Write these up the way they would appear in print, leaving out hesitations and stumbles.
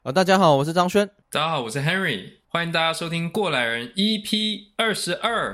大家好，我是張軒。 大家好，我是 Henry， 歡迎大家收聽過來人 EP22。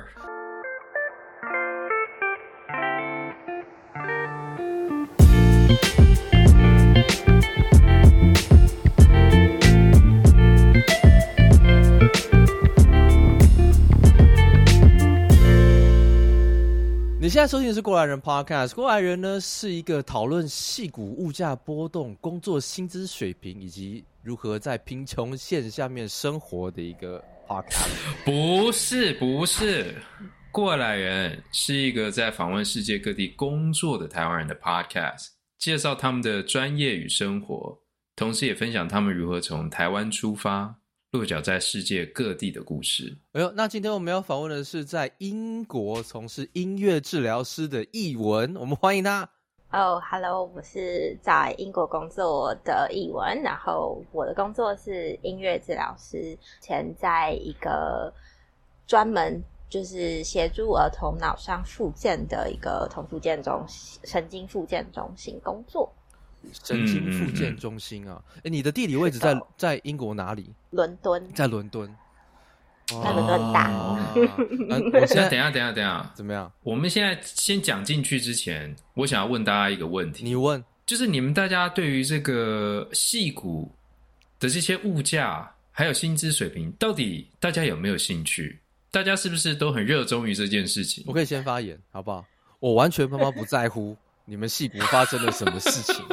你現在收聽的是過來人 Podcast。過來人呢是一個討論矽谷物價波動、工作薪資水平以及如何在貧窮線下面生活的一個 Podcast。 不是，過來人是一個在訪問世界各地工作的台灣人的 Podcast， 介紹他們的專業與生活，同時也分享他們如何從台灣出發，落腳在世界各地的故事。 那今天我們要訪問的是在英國從事音樂治療師的譯文，我們歡迎他。 Hello， 我是在英國工作的譯文，然後我的工作是音樂治療師，前在一個專門就是協助兒童腦傷復健的一個童復健中心、神經復健中心工作。 神經復健中心啊，你的地理位置在英國哪裡？ 倫敦， 在倫敦， 在倫敦大。 我现在等一下， 怎麼樣？ 我們現在先講進去之前，我想要問大家一個問題。 你問， 就是你們大家對於這個矽谷的這些物價還有薪資水平，到底大家有沒有興趣？大家是不是都很熱衷於這件事情？ 我可以先發言，好不好？我完全他媽不在乎你們矽谷發生了什麼事情。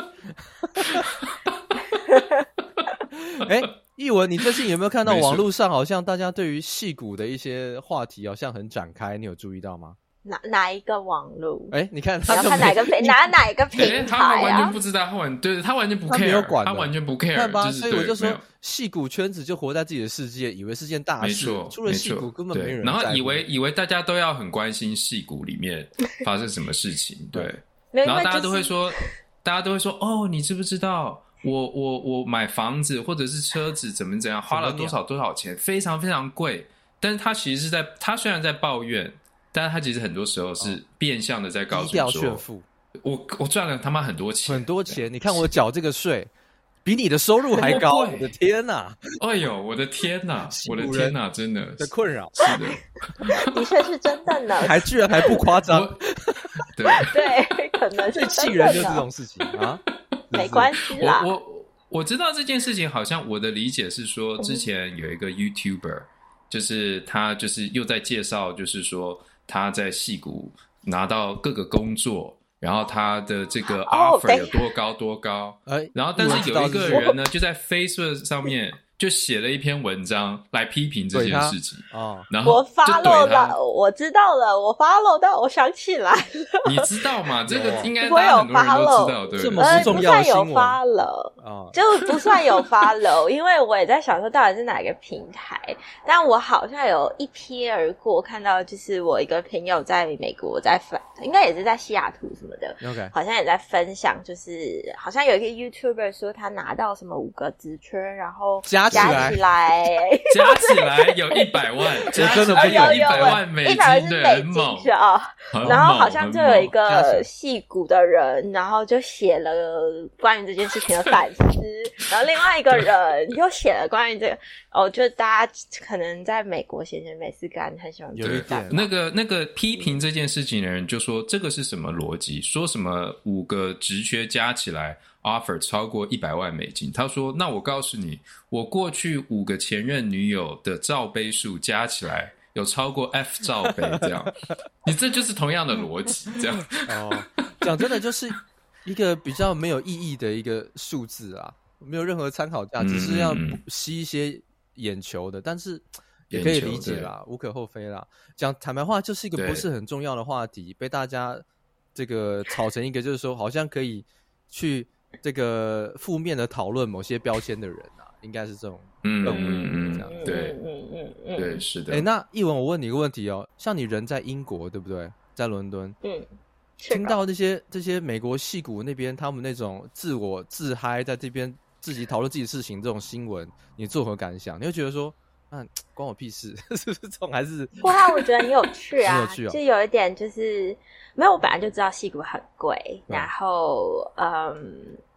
譯文，你最近有沒有看到網絡上好像大家對於矽谷的一些話題好像很展開？你有注意到嗎？ 哪一個網絡？ 你看他要看哪一個平哪一個平台他完全不知道，他完全不 care， 他沒有管， 他完全不 care， 看吧？ 就是、 所以我就說，矽谷圈子就活在自己的世界，以為是件大事，出了矽谷根本沒人在乎， 然后以為大家都要很關心矽谷裡面發生什麼事情，對， 然後大家都會說，哦，你知不知道？我買房子或者是車子怎麼樣，花了多少錢，非常非常貴。但是他其實是他雖然在抱怨，但是他其實很多時候是變相的在告訴說， 炫富。 我賺了他媽很多錢， 很多錢。你看我繳這個稅，比你的收入還高。我的天哪！ 哎呦，我的天哪！我的天哪！真的的困擾， 是的， 的確是真的呢。 居然還不誇張。 對，可能是最氣人就是這種事情啊。 沒關係啦。 我知道這件事情，好像我的理解是說，之前有一個 YouTuber，就是他就是又在介紹，就是說他在矽谷拿到各個工作，然後他的這個 offer 有多高，然後但是有一個人呢，就在 Facebook 上面就寫了一篇文章來批評這件事情。然後我 follow 了，我知道了，我 follow 到，我想起來了。 你知道嗎？這個應該大家很多人都知道，对不对？ 這麼不重要的新聞， 不算有 follow，就不算有 follow，因為我也在想說到底是哪個平台，但我好像有一瞥而過看到，就是我一個朋友在美國應該也是在西雅圖什麼的，okay. 好像也在分享，就是好像有一個 YouTuber 說他拿到什麼5個職缺，然後加起來有 100萬， 加真的不有100萬美金，對，很猛。 然後好像就有一個矽谷的人，然後就寫了關於這件事情的反思，然後另外一個人又寫了關於這個，就大家可能在美國閒閒沒事幹，很喜歡有一點那個批評這件事情的人就說這個是什麼邏輯？說什麼5個職缺加起來 offer 超過100萬美金？他說：“那我告訴你，我過去5個前任女友的罩杯數加起來有超過 F 罩杯，這樣，你這就是同樣的邏輯，這樣。 講真的，就是一個比較沒有意義的一個數字啊，沒有任何參考價，只是要吸一些眼球的，但是也可以理解啦，無可厚非啦。講坦白話，就是一個不是很重要的話題，被大家這個炒成一個，就是說好像可以去這個負面的討論某些標籤的人啊，應該是這種氛圍這樣。 對，是的。 那譯文，我問你一個問題哦，像你人在英國對不對？在倫敦，聽到這些美國矽谷那邊他們那種自嗨，在這邊自己討論自己的事情這種新聞，你作何感想？你會覺得說，關我屁事，是不是這種還是？ 不過我覺得很有趣啊， 很有趣哦， 就有一點就是，沒有，我本來就知道矽谷很貴，然後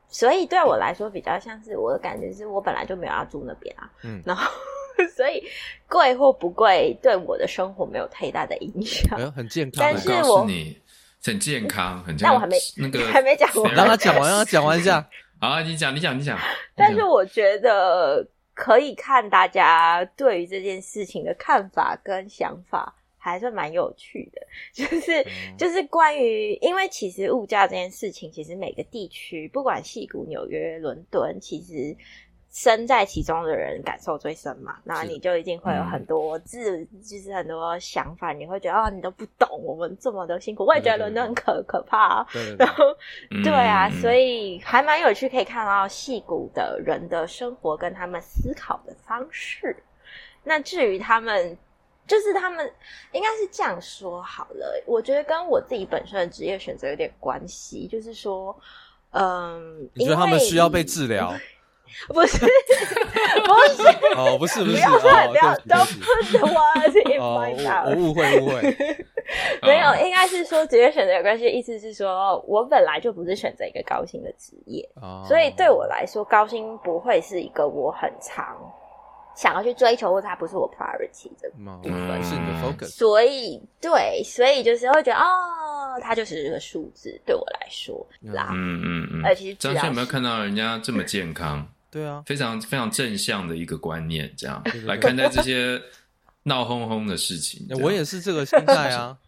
所以對我來說比較像是我的感覺是我本來就沒有要住那邊啊，然後所以貴或不貴對我的生活沒有太大的影響， 很健康。 但是我告訴你，很健康，很健康。 但我還沒講完， 讓他講完一下。 好，你講。 但是我覺得可以看大家對於這件事情的看法跟想法。還算蠻有趣的，就是關於，因為其實物價這件事情，其實每個地區，不管矽谷、紐約、倫敦，其實身在其中的人感受最深嘛。然後你就一定會有很多就是很多想法，你會覺得你都不懂我們這麼的辛苦。我也覺得倫敦很可怕，然後對啊，所以還蠻有趣，可以看到矽谷的人的生活跟他們思考的方式。那至於他們應該是這樣說好了，我覺得跟我自己本身的職業選擇有點關係，就是說， 你覺得他們需要被治療？ 不是， 哦，不是， 不要don't put the words in my mouth。 我誤會， 沒有，應該是說職業選擇有關係，意思是說我本來就不是選擇一個高薪的職業，所以對我來說，高薪不會是一個我很常想要去追求，或者它不是我 priority 的部分， 是你的 focus。 所以就是會覺得它就是一個數字，對我來說啦。而且張軒有沒有看到人家這麼健康？ 對啊， 非常非常正向的一個觀念，這樣來看待這些鬧哄哄的事情。 我也是這個心態啊。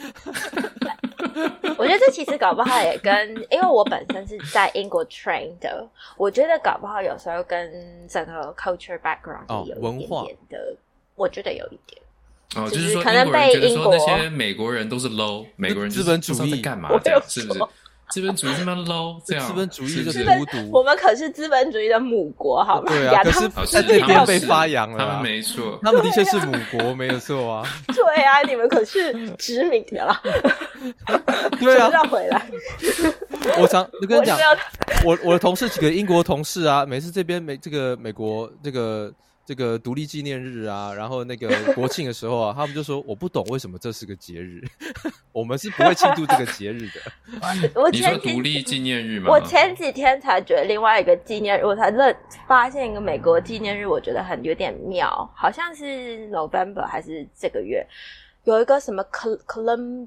我覺得這其實搞不好也跟，因為我本身是在英國 train 的，我覺得搞不好有时候跟整個 culture background 有一點點的，我覺得有一點。 就是說可能被英國那些美國人都是 low， 美國人資本主義幹嘛這樣，是不是？資本主義他媽 low， 這樣。資本主義就是孤獨。 我們可是資本主義的母國，好嗎？ 對啊，可是在這邊被發揚了。 他們沒錯， 他們的確是母國，沒有錯啊。 對啊，你們可是殖民的啦。 對啊， 繞回來。 我跟你講，我的同事幾個英國同事啊，每次這邊美國這個獨立紀念日啊，然後那個國慶的時候啊，他們就說我不懂為什麼這是個節日，我們是不會慶祝這個節日的。 你說獨立紀念日嗎？ 我前幾天才覺得另外一個紀念日，我才發現一個美國紀念日，我覺得有點妙，好像是 November 還是這個月有一個什麼 Columbus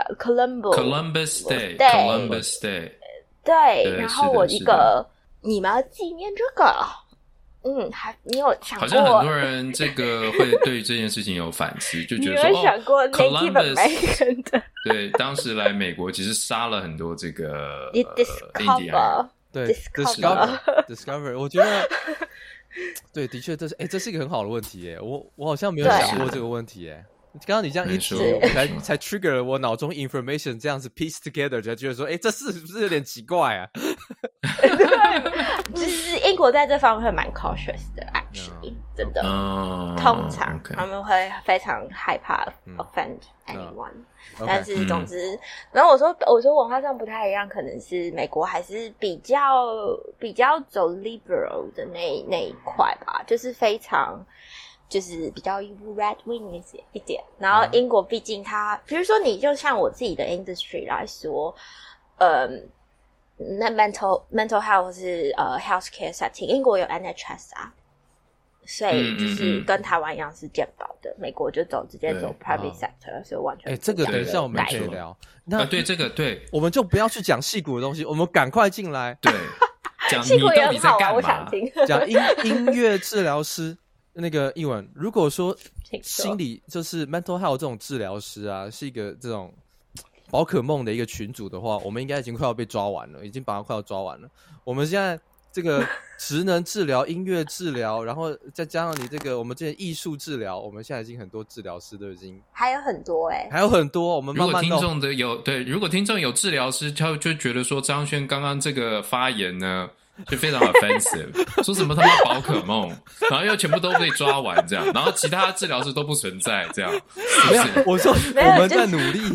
Day， 對，然後我一個你們要紀念這個。你有想過？ 好像很多人這個會對于這件事情有反思，就覺得說， 你有想過 Native American 的？ 對，當時來美國其實殺了很多這個印第安人。 對 ，discover， 我覺得，對，的確，這是一個很好的問題耶。我好像沒有想過這個問題耶。剛剛你這樣一提，才 trigger 了我腦中 information 這樣子 piece together， 才覺得說，這是不是有點奇怪啊？ 就是英國在這方面會蠻 cautious 的 ，actually， 真的，通常他們會非常害怕 offend anyone，但是總之，然後我說文化上不太一樣，可能是美國還是比較走 liberal 的那一塊吧，就是非常。就是比較 red wing 一點，然後英國畢竟它，比如說你就像我自己的 industry 來說，那 mental health 是healthcare setting， 英國有 NHS 啊，所以就是跟台灣一樣是健保的，美國就直接走 private sector， 所以完全這個等一下我們可以聊。那對這個對， 我們就不要去講矽谷的東西，我們趕快進來。 對，講你到底在幹嘛？ 我想聽。 講音樂治療師。那個譯文，如果說心理就是 mental health 這種治療師啊，是一個這種寶可夢的一個群組的話，我們應該已經快要被抓完了，已經把它快要抓完了。我們現在這個職能治療、音樂治療，然後再加上你這個我們這些藝術治療，我們現在已經很多治療師都已經還有很多還有很多。我們慢慢如果聽眾有治療師，他就覺得說張軒剛剛這個發言呢。就非常 offensive， 說什麼他媽寶可夢，然後又全部都被抓完這樣，然後其他治療師都不存在這樣， 沒有，我說我們在努力，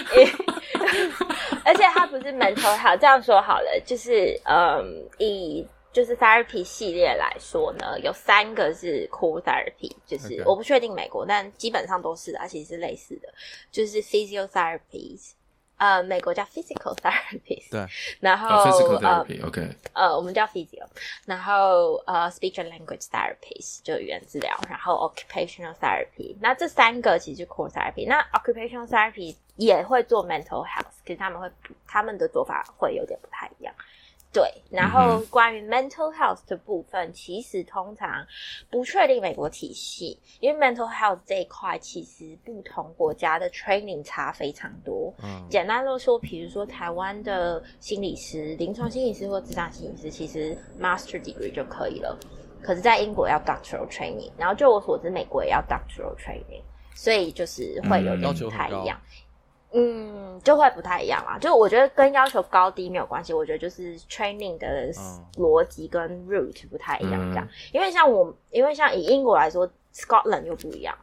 而且他不是 mental health， 這樣說好了，就是以就是 therapy 系列來說呢，有3個是 core therapy， 就是我不確定美國，但基本上都是啊，其實是類似的，就是 physiotherapy 美國叫 physical therapist， 對， 然後 physical therapy，OK， 我們叫 physio， 然後speech and language therapist 就語言治療，然後 occupational therapy， 那這三個其實是 core therapy， 那 occupational therapy 也會做 mental health， 可是他們的做法會有點不太一樣。對，然後關於 mental health 的部分，其實通常不確定美國體系，因為 mental health 這一塊其實不同國家的 training 差非常多。簡單的說，比如說台灣的心理師、臨床心理師或諮商心理師，其實 master degree 就可以了。可是，在英國要 doctoral training， 然後就我所知，美國也要 doctoral training， 所以就是會有點不太一樣。就会不太一樣啦。就我覺得跟要求高低沒有關係，我覺得就是 training 的邏輯跟 route 不太一樣這樣。因為像以英國來說 ，Scotland 又不一樣。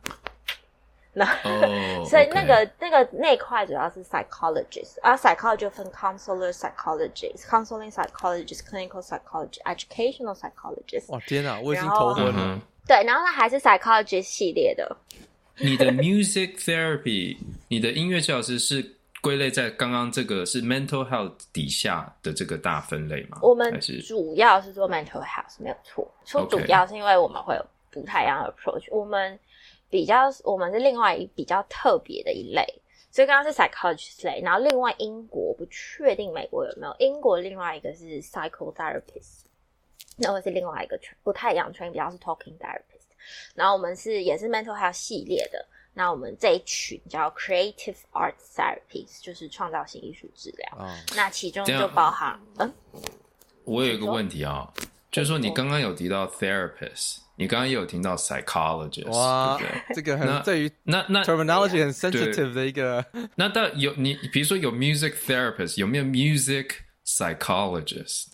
所以那塊主要是 psychologist， psychologist 分 counselor psychologist、counseling psychologist、clinical psychologist、educational psychologist。 哇天哪，我已經頭昏了。 对，然後它還是 psychologist 系列的。 你的 music therapy， 你的音樂治療師是歸類在剛剛這個是 mental health 底下的這個大分類嗎？ 我們主要是做 mental health， 沒有錯。說主要是因為我們會有不太一樣的 approach， 我們是另外比較特別的一類。所以剛剛是 psychologist 類，然後另外英國不確定美國有沒有，英國另外一個是 psychotherapist， 那會是另外一個不太一樣的 train， 比較是 talking therapist。然後我們也是 mental health 系列的，那我們這一群叫 creative arts therapists， 就是創造性藝術治療。那其中就包含我有一個問題啊，就是說你剛剛有提到 therapist， 你剛剛也有提到 psychologist， 哇， 對不對？ 這個很對於那 terminology 很 sensitive 的一個。 那你比如說有 music therapist， 有沒有 music psychologist？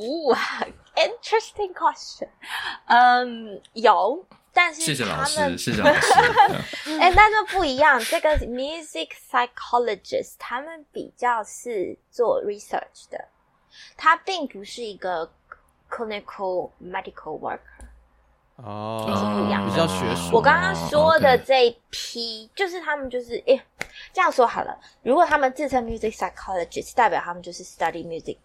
Interesting question。有。但是謝謝老師。 但是不一樣，這個 music psychologist 他們比較是做 research 的，他並不是一個 clinical medical worker。是不一樣的， 比較學術。 我剛剛說的這一批，就是他們就是這樣說好了。如果他們自稱 music psychologist， 代表他們就是 study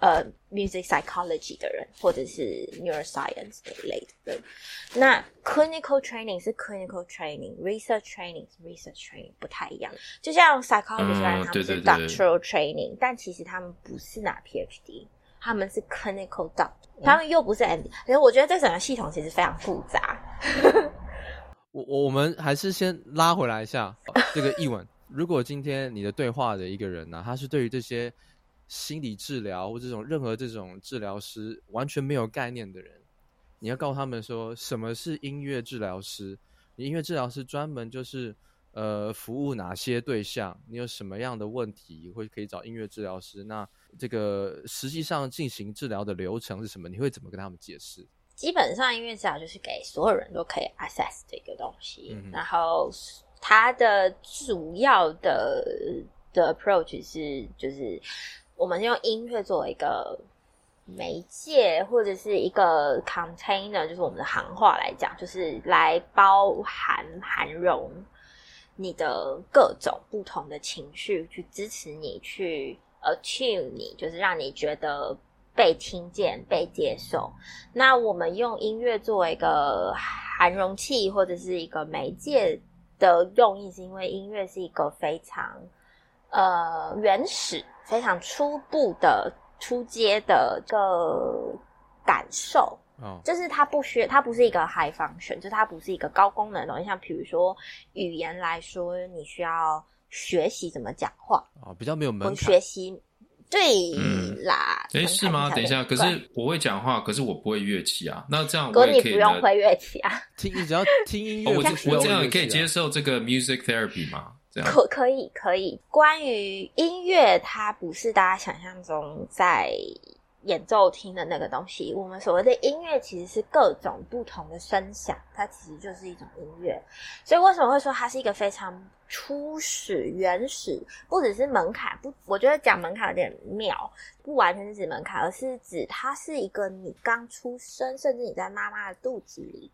music psychology 的人，或者是 neuroscience 的一類的人。那 clinical training 是 clinical training，research training 是 research training， 不太一樣。就像 psychologist 他們是 doctoral training， 但其實他們不是拿 PhD。他們是 clinical doctor， 他們又不是 MD， 所以我覺得這整個系統其實非常複雜。 我們還是先拉回來一下這個譯文。如果今天你的對話的一個人呢，他是對於這些心理治療或任何這種治療師完全沒有概念的人，你要告訴他們說什麼是音樂治療師？你音樂治療師專門就是服務哪些對象？你有什麼樣的問題會可以找音樂治療師？那這個實際上進行治療的流程是什麼？你會怎麼跟他們解釋？ 基本上音樂治療就是給所有人都可以 access 的一個東西，然後它的主要的 approach 是就是我們用音樂作為一個媒介或者是一個 container， 就是我們的行話來講，就是來涵容你的各種不同的情緒，去支持你，去attune你，就是让你觉得被听见、被接受。那我们用音樂作為一個涵容器或者是一個媒介的用意，是因為音樂是一個非常原始、非常初步的、初階的一個感受。就是它不是一個 high function， 就是它不是一個高功能的東西。像比如說語言來說，你需要學習怎麼講話，比較沒有門檻。學習，對啦。 是嗎？等一下，可是我會講話，可是我不會樂器啊。那這樣我也可以。 你不用會樂器啊， 你只要聽音樂。 我這樣也可以接受這個 music therapy 嗎？這樣可以。關於音樂，它不是大家想象中在演奏廳的那個東西，我們所謂的音樂其實是各種不同的聲響，它其實就是一種音樂。所以為什麼會說它是一個非常初始、原始，不只是門檻，我覺得講門檻有點妙，不完全是指門檻，而是指它是一個你剛出生，甚至你在媽媽的肚子裡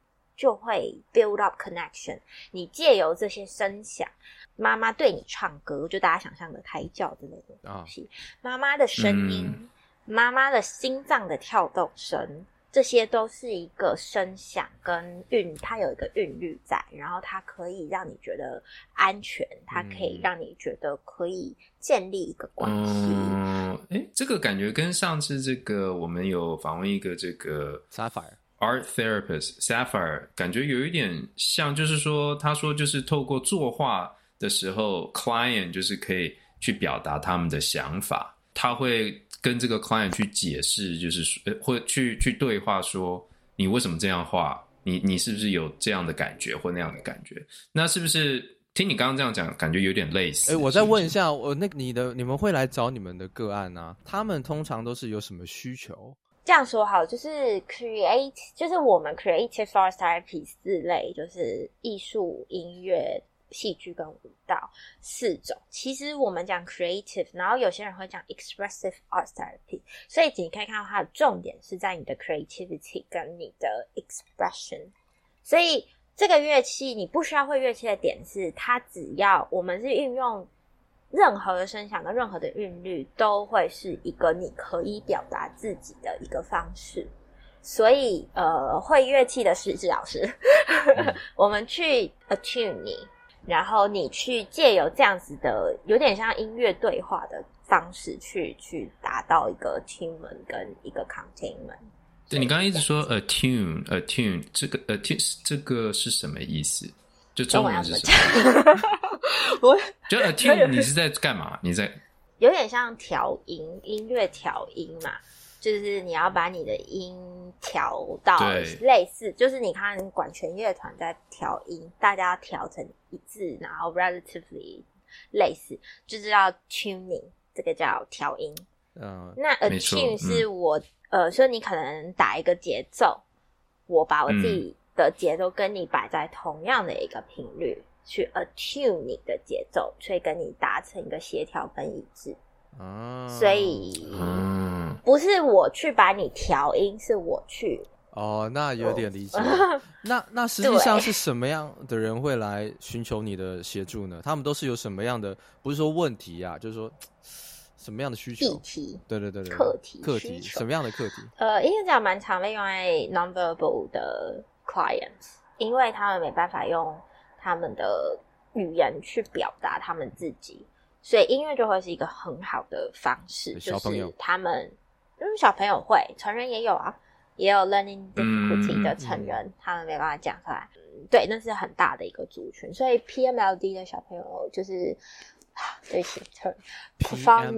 就會 build up connection。你借由這些聲響，媽媽對你唱歌，就大家想象的胎教之類的東西，媽媽的聲音，媽媽的心臟的跳動聲，這些都是一個聲響跟它有一個韻律在，然後它可以讓你覺得安全，它可以讓你覺得可以建立一個關係。 這個感覺跟上次這個我們有訪問一個這個 Sapphire Art Therapist Sapphire， 感覺有一點像，就是說他說就是透過作畫的時候 client 就是可以去表達他們的想法，他會跟這個 client 去解釋，就是或去對話說你為什麼這樣畫，你是不是有這樣的感覺或那樣的感覺，那是不是聽你剛剛這樣講感覺有點類似？ 我再問一下，你們會來找你們的個案啊，他們通常都是有什麼需求？ 這樣說好，就是就是我們 creative art therapy 四類，就是藝術、音樂、戲劇跟舞蹈4種。其實我們講 creative， 然後有些人會講 expressive art therapy， 所以你可以看到它的重點是在你的 creativity 跟你的 expression。所以這個樂器你不需要会樂器的點是，它只要我們是運用任何的聲響跟任何的韻律，都會是一個你可以表達自己的一個方式。所以會樂器的是老師我們去 attune 你，然後你去借由這樣子的有點像音樂對話的方式去達到一個 attunement 跟一個 containment。 对，你刚刚一直說 attune 這個 attune 這個是什麼意思？就中文是什麼？就 attune 你是在幹嘛？你在有點像調音，音樂調音嘛，就是你要把你的音調到類似，就是你看管弦樂團在調音，大家要調成一致，然後 relatively 類似，就是要 tuning， 這個叫調音。那 attune 是我所以你可能打一個節奏，我把我自己的節奏跟你擺在同樣的一個頻率，去 attune 你的節奏，所以跟你達成一個協調跟一致。所以不是我去把你調音，是我去那有點理解那實際上是什麼樣的人會來尋求你的協助呢？他們都是有什麼樣的，不是說問題啊，就是說什麼樣的需求？議題，對，課題，什麼樣的課題？ 應該講蠻常被用在 nonverbal 的 clients， 因為他們沒辦法用他們的語言去表達他們自己，所以音樂就會是一個很好的方式。 小朋友， 就是他們小朋友會，成人也有啊，也有 learning difficulty 的成人，他們沒辦法講出來。对，那是很大的一個族群，所以 PMLD 的小朋友就是对不起 perform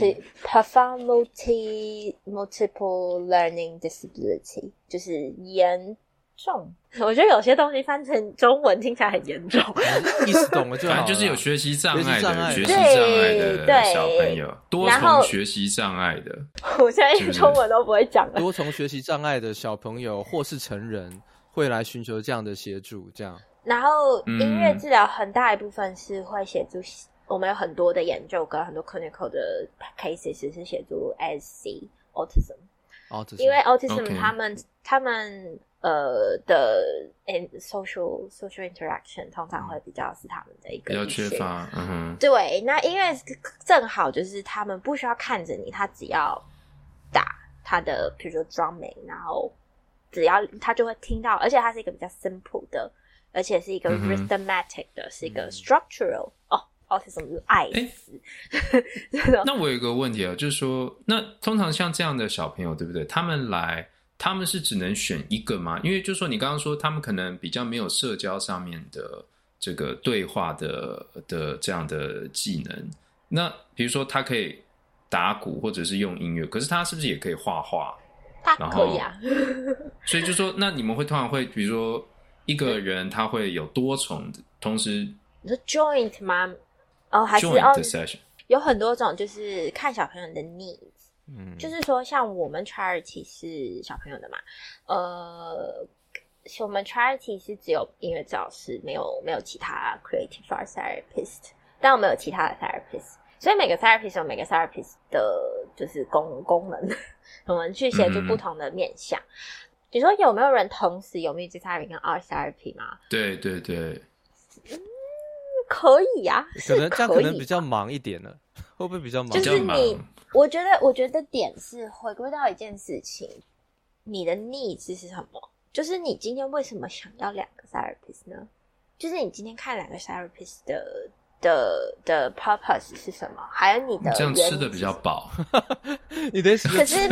multiple learning disability 就是嚴重，我覺得有些東西翻成中文听起來很嚴重意思懂了就好了， 反正就是有學習障礙的小朋友，多重學習障礙的， 我現在中文都不會講了， 多重學習障礙的小朋友或是成人會來尋求這樣的協助，這樣。 然後音樂治療很大一部分是會協助，我們有很多的研究跟很多 clinical 的 cases 是協助 ASC autism， 因為 autism 他們的 social interaction 通常會比較是他們的一個比較缺乏， 對，那音樂正好就是他們不需要看着你，他只要打他的比如說 drumming， 然後只要他就會聽到，而且它是一個比較 simple 的，而且是一個 rhythmatic 的，是一個 structural autism 是愛死那我有一個問題啊，就是說那通常像這樣的小朋友對不對，他們是只能選一個嗎？因為就是說你剛剛說他們可能比較沒有社交上面的這個對話的這樣的技能，那比如說他可以打鼓或者是用音樂，可是他是不是也可以畫畫？ 他可以啊所以就說那你们通常会比如說一個人他會有多重同時你說 joint 嗎？還是 joint 的 session 有很多種，就是看小朋友的 needs，就是說像我們 charity 是小朋友的嘛，我們 charity 是只有音樂治療師，沒有其他 creative art therapist， 但我們有其他的 therapist， 所以每個 therapist 有每個 therapist 的就是功能，我們去協助不同的面向。 你說有沒有人同時有 Music Therapy 跟 Art Therapy 嗎？ 对对对， 可以呀， 可能这樣可能比较忙一點了，會不會比較忙？ 就是你，我覺得點是回歸到一件事情，你的 needs 是什麼？就是你今天為什麼想要2個 therapist 呢？就是你今天看2個 therapist 的 purpose 是什麼？還有你的這樣吃的比較飽， 你的可是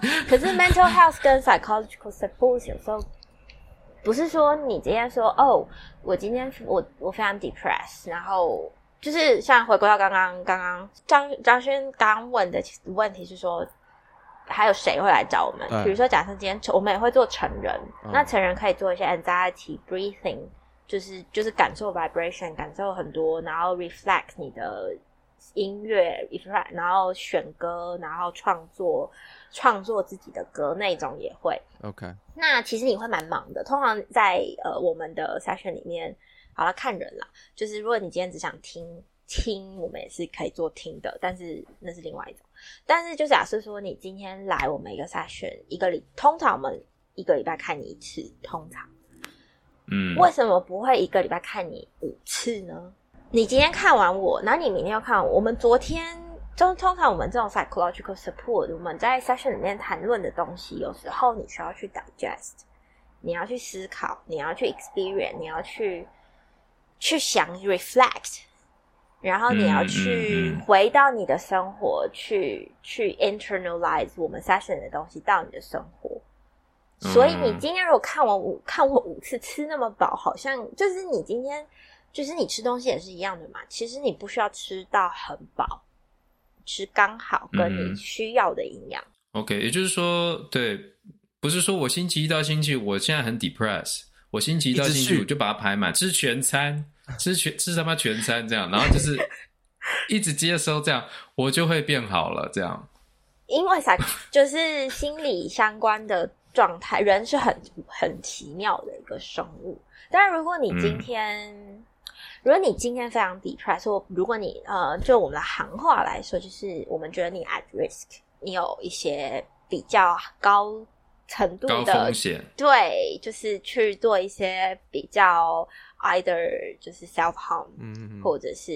mental health 跟 psychological support 有時候不是說你今天說哦，我今天我非常 depressed， 然後就是像回歸到剛剛張軒剛問的問題是說，還有誰會來找我們？比如說假設今天我們也會做成人，那成人可以做一些 anxiety breathing。就是感受 vibration， 感受很多，然後 reflect 你的音樂 reflect， 然後選歌，然後創作自己的歌那種也會。 OK， 那其實你會蠻忙的。通常在我們的 session 裡面，好了，看人啦。就是如果你今天只想聽，我們也是可以做聽的，但是那是另外一種。但是就假設說你今天來我們一個 session， 通常我們1個禮拜看你一次，通常。為什麼不會1個禮拜看你5次呢？你今天看完我，然後你明天又看完我。我們昨天通常我們這種 psychological support， 我們在 session 裡面談論的東西，有時候你需要去 digest， 你要去思考，你要去 experience， 你要去想 reflect， 然後你要去回到你的生活，去 internalize 我們 session 的東西到你的生活。所以你今天如果看我5次吃那麼飽，好像就是你今天就是你吃東西也是一樣的嘛。其實你不需要吃到很飽，吃剛好跟你需要的營養。 OK， 也就是說，对，不是說我星期一到星期五我現在很 depressed， 我星期一到星期五就把它排滿，吃全餐，吃他媽全餐這樣，然後就是一直接收這樣，我就會變好了這樣。 因為就是心理相關的狀態，人是很奇妙的一個生物。但是如果你今天非常 depressed， 或如果你就我們的行話來說，就是我們覺得你 at risk， 你有一些比較高程度的高風險， 對，就是去做一些比較 either 就是 self harm，或者是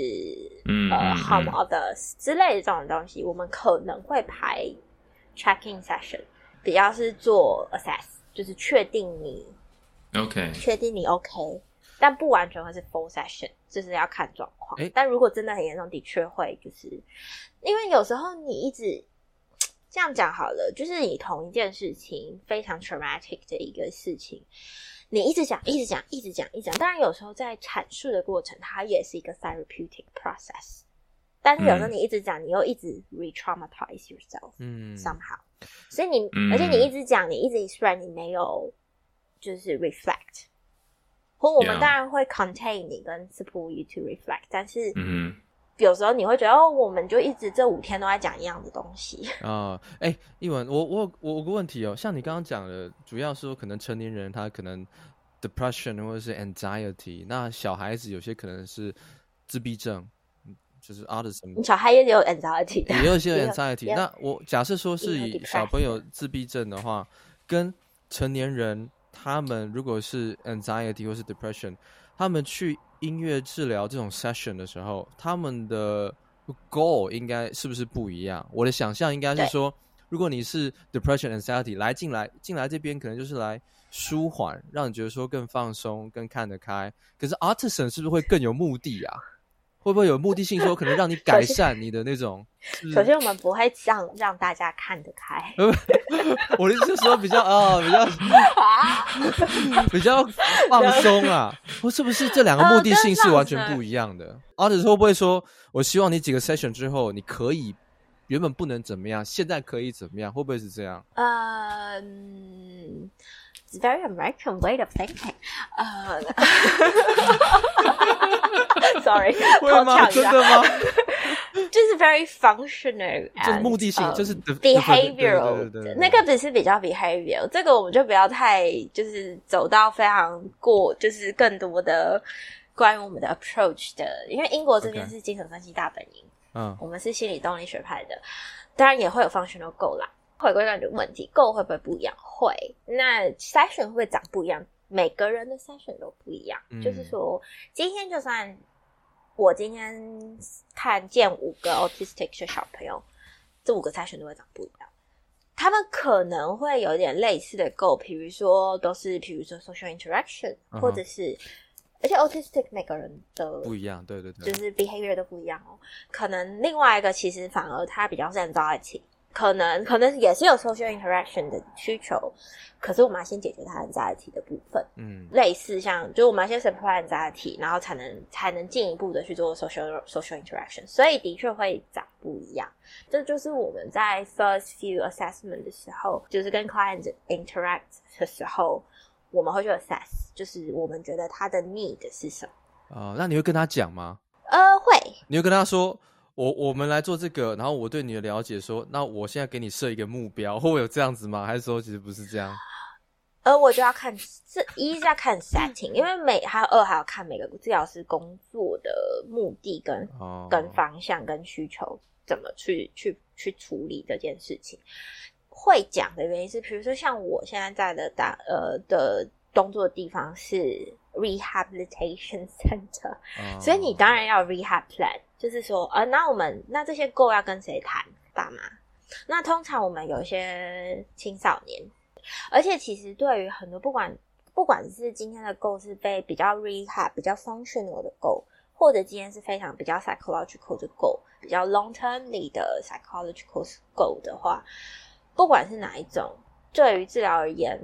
harm others 之類的這種東西，我們可能會排 check-in session。比較是做 assess， 就是確定你 OK， 確定你 OK， 但不完全會是 full session， 就是要看狀況。但如果真的很嚴重，的確會就是因為有時候你一直這樣講好了，就是你同一件事情非常 traumatic 的一個事情，你一直講，當然有時候在闡述的過程，它也是一個 therapeutic process。但是有時候你一直講，你又一直 re-traumatize yourself， somehow。所以而且你一直講，你一直 express， 你沒有就是 reflect。或我們當然會 contain 你跟 support you to reflect， 但是有時候你會覺得我們就一直這5天都在講一樣的東西啊。 一文，我有個問題像你剛剛講的，主要說可能成年人他可能 depression 或者是 anxiety， 那小孩子有些可能是自閉症。就是 autism， 小孩也有 anxiety， 也有一些 anxiety。那我假設說是以小朋友自閉症的話，跟成年人他們如果是 anxiety 或是 depression， 他們去音樂治療這種 session 的時候，他們的 goal 應該是不是不一樣？我的想象應該是說，如果你是 depression anxiety 進來這邊，可能就是來舒緩，讓你覺得說更放鬆、更看得開。可是 autism 是不是會更有目的啊？會不會有目的性，說可能讓你改善你的那種？ 首先，我們不會讓大家看得開。 我的意思是說比較比較放鬆啊，或是不是這兩個目的性是完全不一樣的？或者是會不會說，我希望你幾個 session 之後，你可以原本不能怎麼樣，現在可以怎麼樣？會不會是這樣 ？It's very American way of thinking. Sorry， 会嗎？真的嗎？ 就是 very functional， 就是目的性，就是 behavioral， 那個只是比較 behavioral， 這個我們就不要太就是走到非常就是更多的關於我們的 approach 的，因為英國這邊是精神分析大本營，我們是心理動力學派的，當然也會有 functional goal 啦。 回歸到你的問題 ，Goal 會不會不一樣？會。那 session 會不會長不一樣？每個人的 session 都不一樣。就是說，今天就算我今天看見5個 autistic 的小朋友，這5個 session 都會長不一樣。他們可能會有點類似的 goal， 比如說 social interaction，或者是，而且 autistic 每個人的不一樣，对， 就是 behavior 都不一樣哦。可能另外一個其實反而他比較是 anxiety。可能也是有 social interaction 的需求，可是我們要先解決它 anxiety 的部分。類似像就是我們要先 supply anxiety， 然後才能進一步的去做 social interaction， 所以的確會長不一樣。這就是我們在 first few assessment 的時候，就是跟 client interact 的時候，我們會去 assess， 就是我們覺得他的 need 是什麼。 那你會跟他講嗎？ 會。你會跟他說？我們來做這個，然後我對你的了解說，那我現在給你設一個目標，會有這樣子嗎？還是說其實不是這樣？ 我就要看，一是要看 setting， 因為還要看每個治療師工作的目的跟方向跟需求怎麼去處理這件事情。會講的原因是，比如說像我現在的工作的地方是 rehabilitation center，所以你当然要有 rehab plan。就是說，那這些 goal 要跟誰談？爸媽。那通常我們有一些青少年，而且其實對於很多不管是今天的 goal 是比較 rehab 比较 functional 的 goal， 或者今天是非常比較 psychological 的 goal， 比較 long termly 的 psychological goal 的话，不管是哪一種，對於治療而言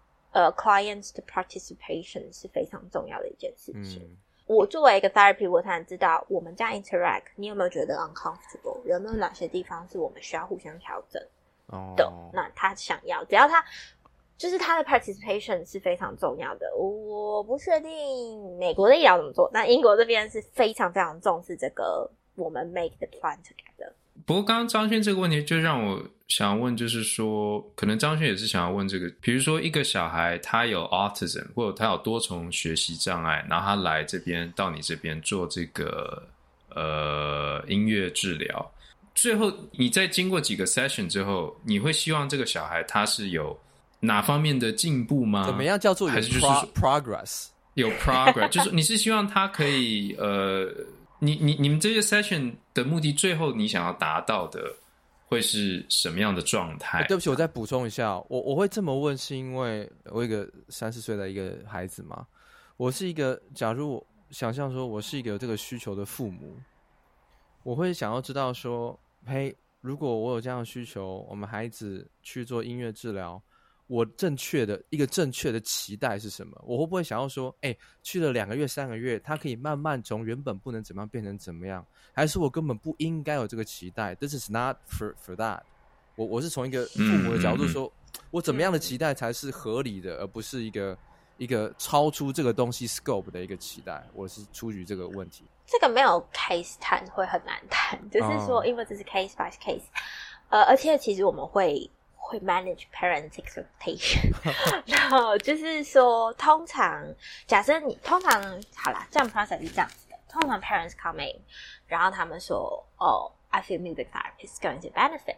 ，clients 的 participation 是非常重要的一件事情。我作為一個 therapy， 我才能知道我們這樣 interact， 你有沒有覺得 uncomfortable？ 有沒有哪些地方是我們需要互相調整的？那他想要，只要他就是他的 participation 是非常重要的。我不確定美國的醫療怎麼做，那英國這邊是非常非常重視這個，我們 make the plan together。 不過剛剛張軒這個問題就讓我想問，就是說可能張軒也是想要問這個，比如說一個小孩他有 autism 或者他有多重學習障礙，然後他來這邊到你這邊做這個音樂治療，最後你在經過幾個 session 之後，你會希望這個小孩他是有哪方面的進步嗎？ 怎麼樣叫做有 progress？ 有 progress 就是你是希望他可以你們這些 session 的目的，最後你想要達到的會是什麼樣的狀態？ 對不起，我再補充一下，我會這麼問，是因為我有一個30歲的一個孩子嘛。我是一個，假如我想象說我是一個有這個需求的父母，我會想要知道說，嘿，如果我有這樣的需求，我們孩子去做音樂治療，我正確的期待是什麼？我會不會想要說，去了2個月、3個月，他可以慢慢從原本不能怎麼樣變成怎麼樣？還是我根本不應該有這個期待 ？This is not for that。我是從一個父母的角度說，我怎麼樣的期待才是合理的，而不是一個超出這個東西 scope 的一個期待？我是出於這個問題。 這個沒有 case 談會很難談，就是說，因為這是 case by case，而且其實我們會 manage parents expectation 然後就是說通常假設好啦，這樣 process 是這樣子的，通常 parents come in， 然後他們說I feel music therapy is going to benefit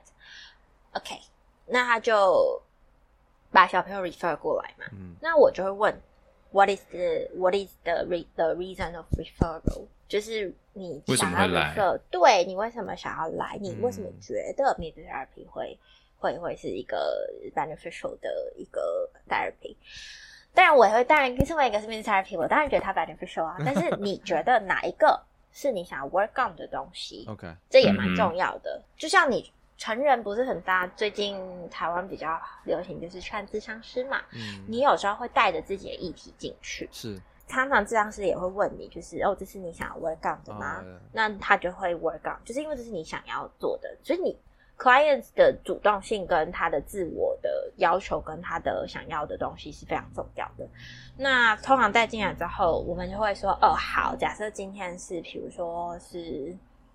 OK， 那他就把小朋友 refer 過來嘛，那我就會問 what is the reason of referral， 就是你想要 refer， 對，你為什麼想要來，你為什麼覺得 music therapy會是一個 beneficial 的一個 therapy。 当然身為一個 music therapy， 我當然覺得它 beneficial 啊，但是你覺得哪一個是你想要 work on 的東西？OK， 這也蠻重要的。就像你成人不是很大，最近台灣比較流行就是看諮商師嘛，你有時候會帶着自己的議題進去，是常常諮商師也會問你，就是這是你想要 work on 的嗎？那他就會 work on， 就是因為這是你想要做的，所以你 clients 的主動性跟他的自我的要求跟他的想要的東西是非常重要的。那通常带进來之後，我們就會說好，假設今天是比如說是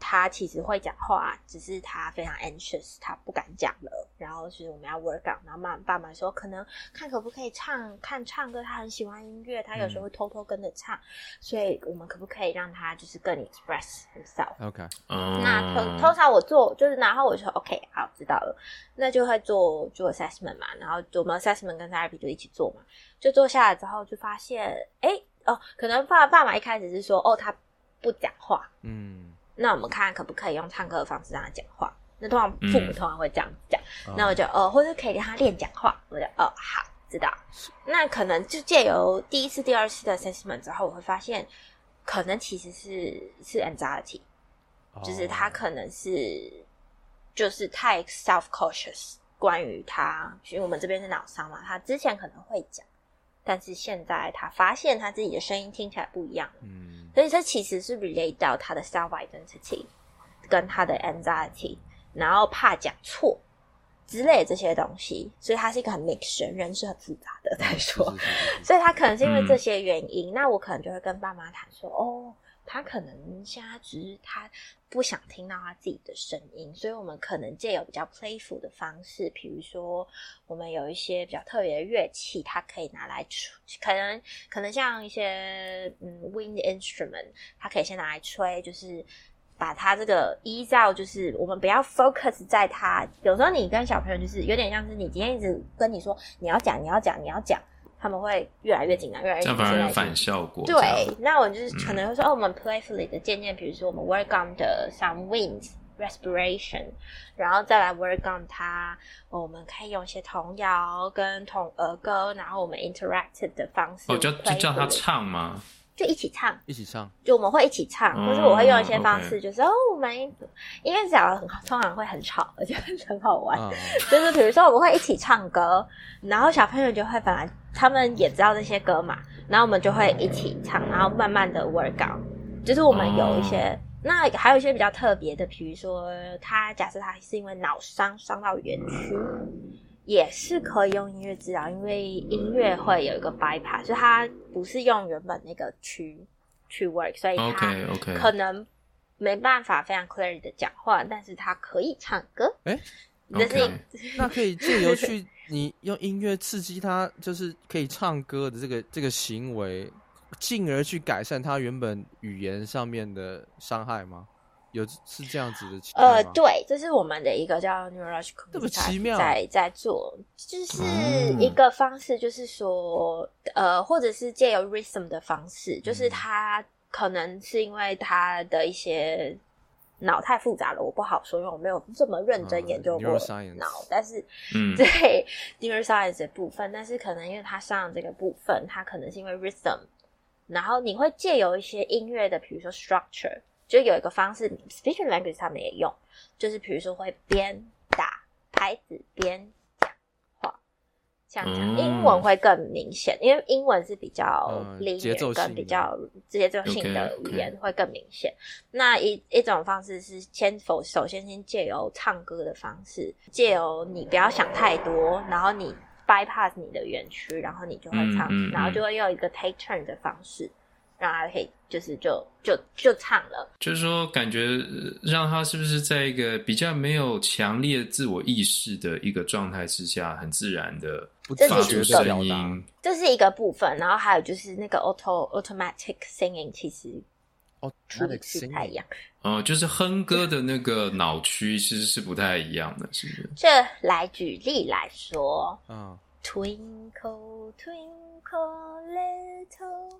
他其實會講話，只是他非常 anxious， 他不敢講了。然後是我們要 work on， 然後爸媽說可能看可不可以看唱歌，他很喜歡音樂，他有時候會偷偷跟着唱，所以我們可不可以讓他就是更 express himself？OK， 那通常我做就是，然後我就說 OK， 好，知道了，那就會做 assessment 嘛，然後我們 assessment 跟 therapy 就一起做嘛，就做下來之後就發現，可能爸媽一開始是說他不講話，那我們看可不可以用唱歌的方式讓他講話。那通常父母通常會這樣講，那我就或者可以讓他練講話，我就好，知道。那可能就借由第一次、第二次的 assessment 之後，我會發現，可能其實是 anxiety，就是他可能是就是太 self-cautious， 關於他，因為我們這邊是腦傷嘛，他之前可能會講，但是現在他發現他自己的聲音聽起來不一樣了，所以這其實是 relate 到他的 self-identity 跟他的 anxiety。然後怕講錯之類的這些東西，所以它是一個很 mix， 人是很複雜的在說，所以他可能是因為這些原因，那我可能就會跟爸媽談說，他可能現在只是他不想聽到他自己的聲音，所以我們可能借由比較 playful 的方式，比如說我們有一些比較特別的樂器，它可以拿來吹，可能像一些wind instrument， 它可以先拿來吹，就是把他這個依照，就是我們不要 focus 在他。有时候你跟小朋友就是有點像是你今天一直跟你說你要講，他們會越來越緊張，越來越緊張，這樣反而有反效果。 对，那我就是可能會說，我們 playfully 的漸漸，比如說我們 work on 的 some wind respiration， 然後再來 work on 它，我們可以用一些童謠跟兒歌，然後我們 interactive 的方式， 就叫他唱嗎？ 就一起唱，就我們會一起唱，或是我會用一些方式，就是我們音樂講的通常會很吵，而且很好玩。就是比如說我們會一起唱歌，然後小朋友就會本來他們也知道這些歌嘛，然後我們就會一起唱，然後慢慢的 work on。就是我們有一些，那還有一些比較特別的，比如說假設他是因為腦傷到園區。也是可以用音樂治療，因為音樂會有一個 bypass， 所以它不是用原本那個去 work， 所以它可能沒辦法非常 clear 的講話，但是它可以唱歌。 那可以借由你用音樂刺激他，就是可以唱歌的這個行為，進而去改善他原本語言上面的傷害嗎？是這樣子的情況嗎？ 對，這是我們的一個叫 neurological， 這麼奇妙， 在做，就是一個方式，就是說，或者是借由 rhythm 的方式，就是他可能是因為他的一些腦太複雜了，我不好說，因為我沒有這麼認真研究過腦，但是對 neuroscience 的部分，但是可能因為他上這個部分，他可能是因為 rhythm， 然後你會借由一些音樂的，比如說 structure。就有一個方式 speech language 他們也用，就是比如說會邊打拍子邊講話，像這樣。英文會更明顯，因為英文是比較linear跟比較節奏性的語言會更明顯。那一種方式是首先借由唱歌的方式，借由你不要想太多，然後你 bypass 你的園區，然後你就会唱，然後就會用一個 take turn 的方式。讓他可以就唱了， 就是說感覺讓他是不是在一個比較沒有強烈自我意識的一個狀態之下，很自然的發出聲音， 這是一個部分。然後還有就是那個 automatic singing， 其實處理是不太一樣。 就是哼歌的那個腦區其實是不太一樣的，是不是？ 这來舉例來說，Twinkle twinkle little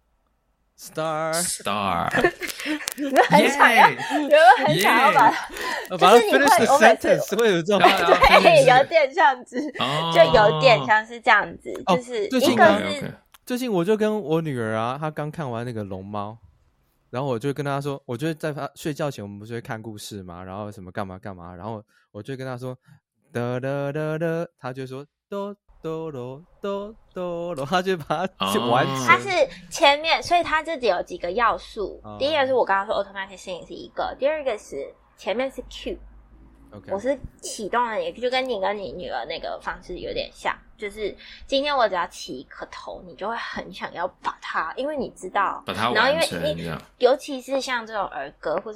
Star， 有没有很想要？有没有很想要把它 finish the sentence 會有這種對，有點像是，就有點像是這樣子，就是一個是最近我就跟我女兒啊，她剛看完那個龍貓，然後我就跟她說，我就在她睡覺前我們不是會看故事嘛，然後什麼幹嘛幹嘛，然後我就跟她說噠噠噠噠，她就說哆哆羅哆哆羅，他就把它完成。 它是前面，所以它這裡有幾個要素。第一個是我剛剛說 automatic singing 是一個，第二個是前面是 cue，我是啟動了，也就跟你跟你女兒那個方式有點像，就是今天我只要起一顆頭，你就會很想要把它，因為你知道， 把它完成， 然後因為尤其是像這種兒歌或是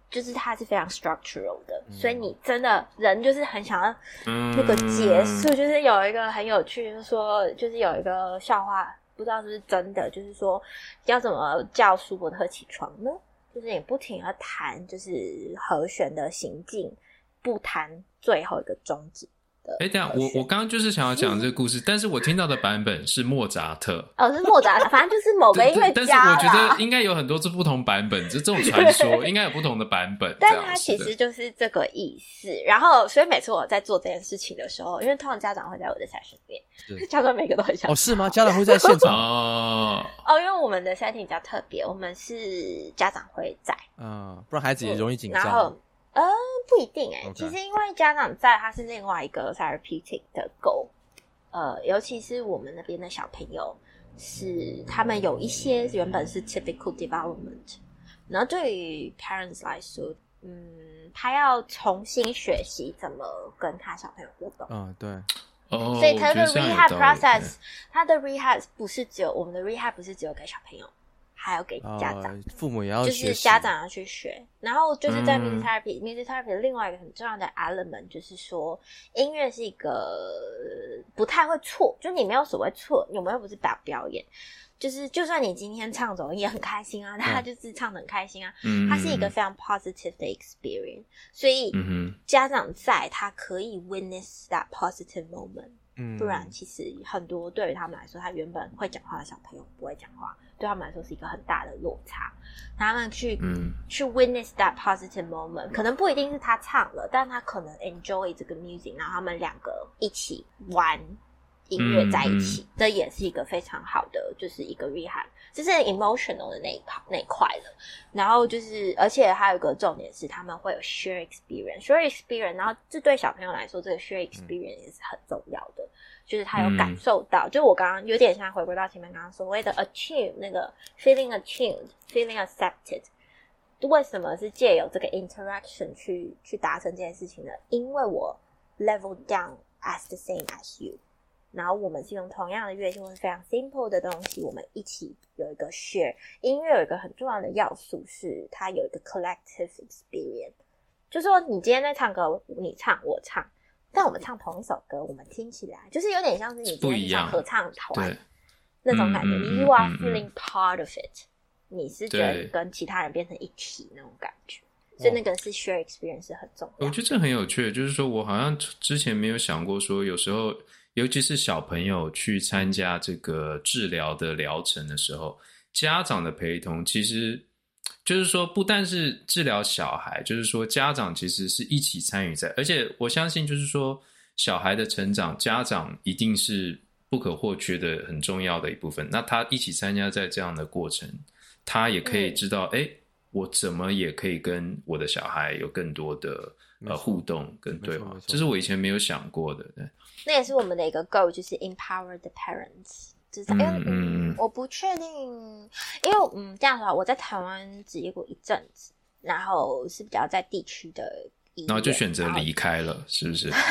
就是它是非常 structural 的，所以你真的人就是很想要那個結束。就是有一個很有趣，就是說，就是有一個笑話，不知道是不是真的，就是說要怎麼叫舒伯特起床呢？就是你不停地彈，就是和弦的行進，不彈最後一個終止。 等一下，我剛剛就是想要講這個故事，但是我聽到的版本是莫扎特。 哦，是莫扎特，反正就是某個音樂家。 但是我覺得應該有很多不同版本，这種傳說應該有不同的版本。 但它其實就是這個意思。然後，所以每次我在做這件事情的時候，因為通常家長會在我的 session 裡面，家長每個都很想。 哦，是嗎？家長會在現場哦， 因為我們的 setting 比較特別，我們是家長會在， 不然孩子也容易緊張。 然後不一定 Okay. 其實因為家長在，它是另外一個 therapeutic 的 goal。尤其是我們那邊的小朋友，是他們有一些原本是 typical development， 然後對於 parents 來說，他要重新學習怎麼跟他小朋友互動。 對。 所以他的 rehab process， 他的 rehab 不是只有我們的 rehab 不是只有給小朋友。還要給家長， 父母也要學習， 就是家長要去學。然後就是在 music therapy，music therapy 另外一個很重要的 element 就是說，音樂是一個不太會錯，就你沒有所謂錯，我們又不是表演，就是就算你今天唱走音也很開心啊，他就是唱得很開心啊，它是一個非常 positive 的 experience， 所以家長在他可以 witness that positive moment。不然其實很多對於他們來說，他原本會講話的小朋友不會講話，對他們來說是一個很大的落差。他們去 witness that positive moment， 可能不一定是他唱了，但他可能 enjoy 這個 music， 然後他們兩個一起玩音樂在一起，這也是一個非常好的，就是一個 rehab， 這是 emotional 的那一塊了。然後就是，而且還有一個重點是，他們會有 share experience， 然後這對小朋友來說，這個 share experience 也是很重要的，就是他有感受到，就我剛剛有點像回歸到前面剛剛所謂的 attune， 那個 feeling attuned，feeling accepted。為什麼是借由這個 interaction 去達成這件事情呢？因為我 level down as the same as you。然後我們是用同樣的樂器，或是非常 simple 的東西，我們一起有一個 share。音樂有一個很重要的要素是它有一個 collective experience， 就是說你今天在唱歌，你唱我唱，但我們唱同一首歌，我們聽起來就是有點像是你今天唱合唱團那種感覺，你 you are feeling part of it， 你是覺得跟其他人變成一體那種感覺。所以那個是 share experience 是很重要的。 我覺得這很有趣，就是說我好像之前沒有想過說，有時候尤其是小朋友去參加這個治療的療程的時候，家長的陪同其實就是說不但是治療小孩，就是說家長其實是一起參與在，而且我相信就是說小孩的成長，家長一定是不可或缺的很重要的一部分。那他一起參加在這樣的過程，他也可以知道我怎麼也可以跟我的小孩有更多的互動跟對話，這是我以前沒有想過的。对， 那也是我們的一個 goal， 就是 empower the parents。就是我不確定，因為这樣的話，我在台灣執業過一陣子，然後是比較在地區的醫院， 然後就選擇離開了，是不是？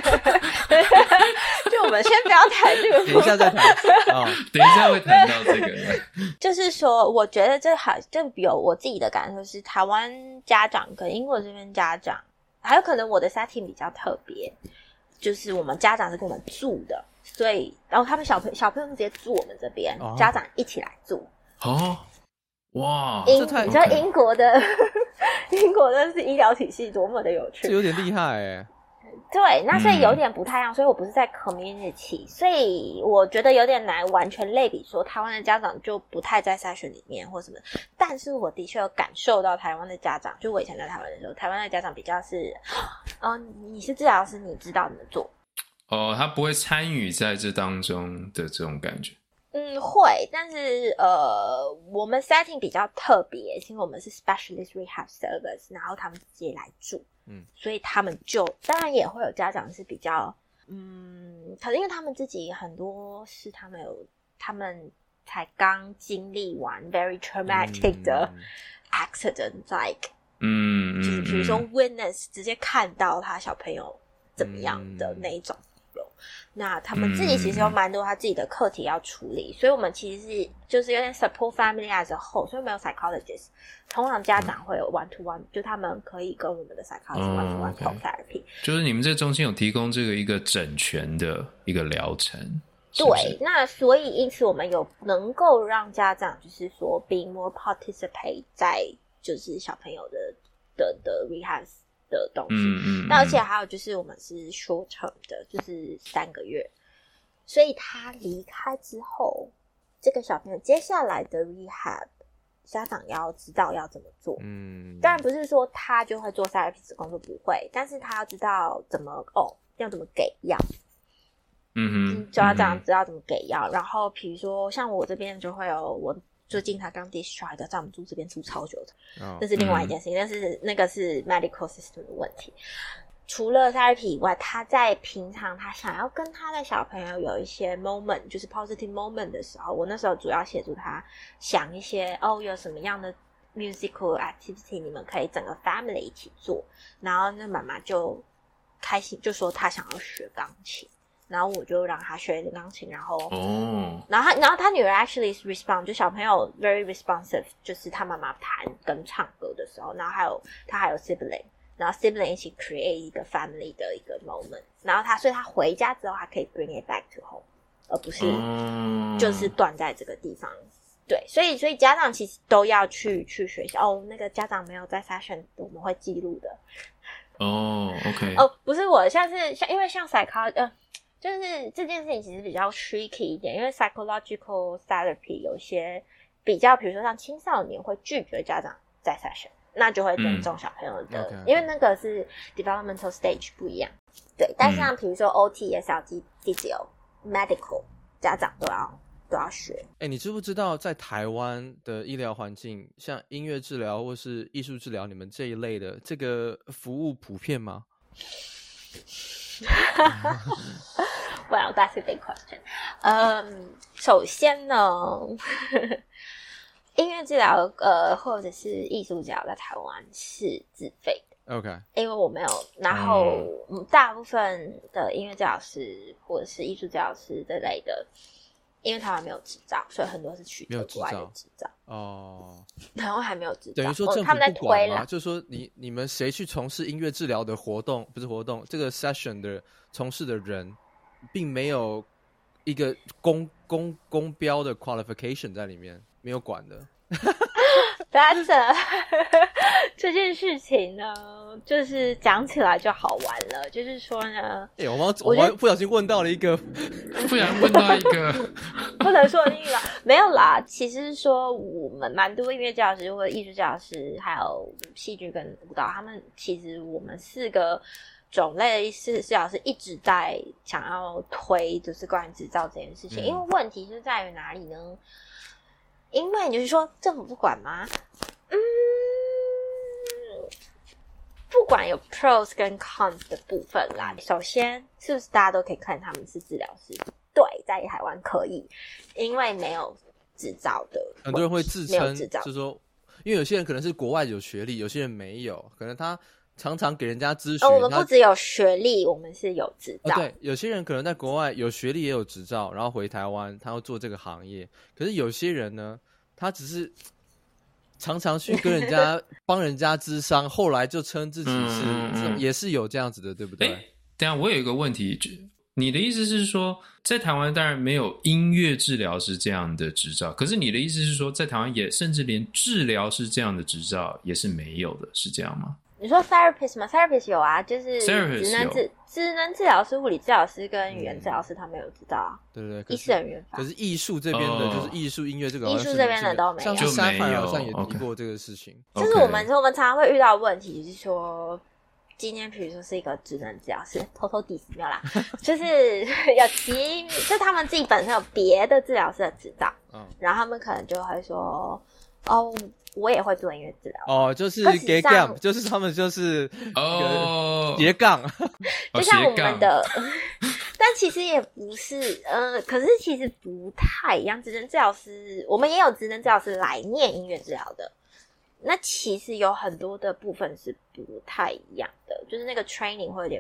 就我們先不要談這個， 等一下再談。 等一下會談到這個。 就是說，我覺得這有我自己的感受是，台灣家長跟英國這邊家長，還有可能我的 setting 比較特別，就是我們家長是跟我們住的，所以然後他们小朋友直接住我們這邊，家長一起來住。 哇， 你知道英國的英國的是医療體系多麼的有趣， 这有點厲害耶。 對，那所以有點不太一樣，所以我不是在 community， 所以我覺得有點難完全類比說台灣的家長就不太在 session 裡面或什麼，但是我的確有感受到台灣的家長，就我以前在台灣的時候，台灣的家長比較是你是治療師，你知道怎麼做他不會參與在這當中的這種感覺。 會，但是我們 setting 比較特別，因為我們是 specialist rehab service， 然後他們直接來住，所以他們就當然也會有家長是比較可能因為他們自己很多是他們才剛經歷完 very traumatic 的 accident，like 就是比如說 witness 直接看到他小朋友怎麼樣的那一種。 那他們自己其實有蠻多他自己的課題要處理，所以我們其實是就是有點 support family as a whole， 所以沒有 psychologist。通常家長會有 one to one，就他們可以跟我們的 psychologist one to one talk therapy。 就是你们這中心有提供这個一個整全的一個療程。 對，那所以因此我們有能夠讓家長就是說 be more participate 在就是小朋友的 rehab 的東西。那而且還有就是我們是 short term 的，就是3個月，所以他離開之後，這個小朋友接下來的 rehab 家長要知道要怎麼做。當然不是說他就會做 therapist 的工作，不會，但是他要知道要怎麼給藥。家長知道怎麼給藥，然後比如說像我這邊就會有，我最近他剛 discharge 在我們住這邊住超久的，這是另外一件事情，但是那個是 medical system 的問題。除了 therapy 以外，他在平常他想要跟他的小朋友有一些 moment， 就是 positive moment 的時候，我那時候主要協助他想一些有什麼樣的 musical activity 你們可以整個 family 一起做，然後那媽媽就開心就說他想要學鋼琴。然後我就讓他學鋼琴，然後然後他女兒 actually is respond， 就小朋友 very responsive， 就是他媽媽彈跟唱歌的時候，然後他還有 sibling， 然後 sibling 一起 create 一個 family 的一個 moment， 然後所以他回家之後他可以 bring it back to home， 而不是就是斷在這個地方。對，所以家長其實都要去學習那個家長沒有在 session 我們會記錄的。 OK。 不是我，因為像 psychology就是這件事情其實比較 tricky 一點，因為 psychological therapy 有些比較，比如說像青少年會拒絕家長在 session， 那就會尊重小朋友的，因為那個是 developmental stage 不一樣。對，但是像比如說 OT、SLT、Physio、Medical， 家長都要學。 你知不知道在台灣的醫療環境，像音樂治療或是藝術治療，你們這一類的這個服務普遍嗎 ？Well, that's a big question. 首先呢，音樂治療或者是藝術治療在台灣是自費的。 OK， 因為我沒有，然後大部分的音樂治療師或者是藝術治療師這類的，因為台灣沒有執照，所以很多是取得國外的執照。台灣還沒有執照， 等於說政府他們在不管嗎？ 推了， 就是說你們誰去從事音樂治療的活動，不是活動，這個 session 的從事的人，並沒有一個公標的 qualification 在裡面，沒有管的。 That's 這件事情呢，就是講起來就好玩了。就是說呢， 我不小心問到了一個， 不然問到一個不能說那個沒有啦。其實是說我們蠻多音樂教師或者藝術教師，還有戲劇跟舞蹈，他們其實我們4個種類是治療師一直在想要推，就是關於執照這件事情。因為問題是在於哪裡呢？因為你就是說政府不管嗎？不管有 pros 跟 cons 的部分啦。首先，是不是大家都可以看他們是治療師？对，在台灣可以，因為沒有執照的， 很多人會自稱，就是說，因為有些人可能是國外有學歷，有些人沒有，可能他常常給人家諮詢。 我們不只有學歷，我們是有執照。 對，有些人可能在國外有學歷也有執照，然後回台灣，他要做這個行業。可是有些人呢，他只是常常去跟人家幫人家諮商，後來就稱自己是，也是有這樣子的，對不對？ 等一下我有一個問題，你的意思是說，在台灣當然沒有音樂治療師這樣的執照，可是你的意思是說，在台灣也甚至連治療師這樣的執照也是沒有的，是這樣嗎？ 你說 therapist 嗎？ therapist 有啊，就是職能治療師、物理治療師跟語言治療師，他們有執照啊。 對对对， 醫師人員法。 可是藝術這邊的，就是藝術音樂這個， 藝術這邊的都沒有。 像沙凡好像也提過這個事情。 就是我們常常會遇到的問題，就是說，今天比如說是一個職能治療師，偷偷 diss 沒有啦，就是有就他們自己本身有別的治療師的執照，然後他們可能就會說，我也會做音樂治療就是斜槓，就是他們就是斜槓， 就像我們的，但其實也不是，可是其實不太一樣。職能治療師，我們也有職能治療師來念音樂治療的，那其實有很多的部分是不太一樣的，就是那個 training 會有點